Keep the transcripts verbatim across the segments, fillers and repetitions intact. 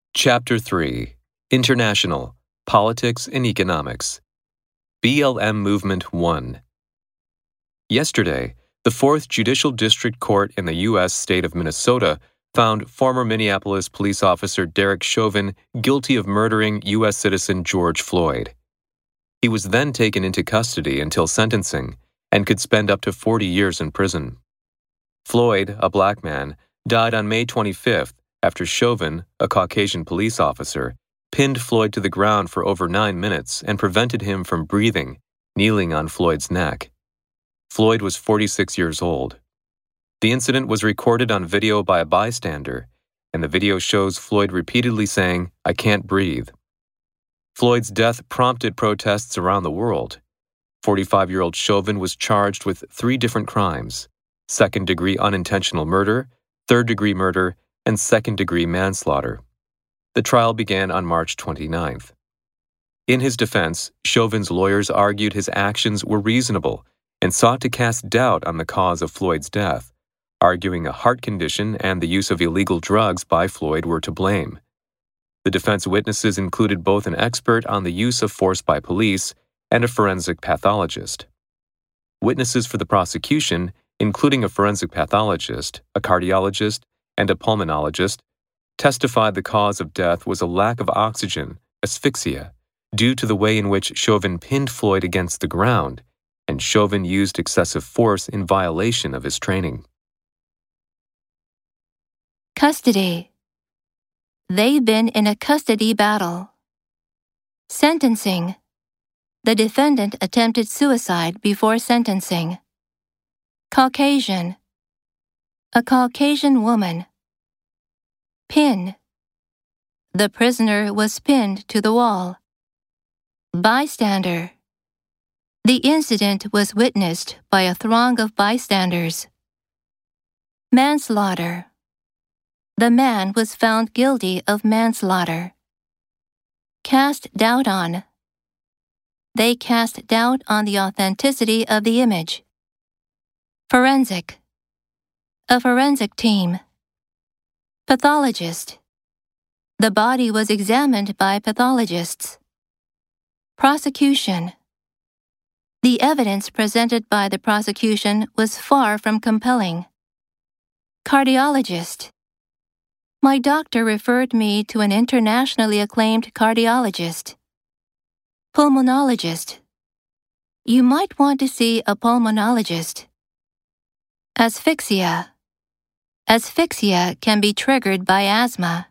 Chapter three International Politics and Economics B L M Movement one. Yesterday, the Fourth Judicial District Court in the U S state of Minnesota found former Minneapolis police officer Derek Chauvin guilty of murdering U S citizen George Floyd. He was then taken into custody until sentencing and could spend up to forty years in prison. Floyd, a black man, died on May twenty-fifth after Chauvin, a Caucasian police officer, pinned Floyd to the ground for over nine minutes and prevented him from breathing, kneeling on Floyd's neck. Floyd was forty-six years old. The incident was recorded on video by a bystander, and the video shows Floyd repeatedly saying, "I can't breathe." Floyd's death prompted protests around the world. forty-five-year-old Chauvin was charged with three different crimes: second-degree unintentional murder, third-degree murder, and second-degree manslaughter. The trial began on March twenty-ninth. In his defense, Chauvin's lawyers argued his actions were reasonable and sought to cast doubt on the cause of Floyd's death, arguing a heart condition and the use of illegal drugs by Floyd were to blame. The defense witnesses included both an expert on the use of force by police and a forensic pathologist. Witnesses for the prosecution, including a forensic pathologist, a cardiologist, and a pulmonologist, testified the cause of death was a lack of oxygen, asphyxia, due to the way in which Chauvin pinned Floyd against the ground, and Chauvin used excessive force in violation of his training. Custody. They've been in a custody battle. Sentencing. The defendant attempted suicide before sentencing. Caucasian. A Caucasian woman. Pin. The prisoner was pinned to the wall. Bystander. The incident was witnessed by a throng of bystanders. Manslaughter. The man was found guilty of manslaughter. Cast doubt on. They cast doubt on the authenticity of the image. Forensic. A forensic team. Pathologist. The body was examined by pathologists. Prosecution. The evidence presented by the prosecution was far from compelling. Cardiologist. My doctor referred me to an internationally acclaimed cardiologist. Pulmonologist. You might want to see a pulmonologist. Asphyxia. Asphyxia can be triggered by asthma.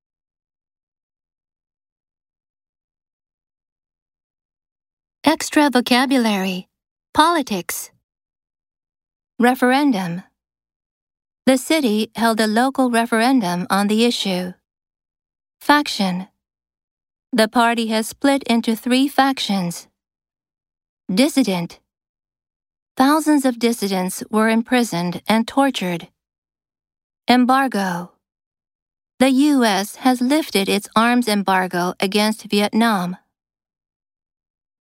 Extra vocabulary. Politics. Referendum. The city held a local referendum on the issue. Faction. The party has split into three factions. Dissident. Thousands of dissidents were imprisoned and tortured. Embargo. The U S has lifted its arms embargo against Vietnam.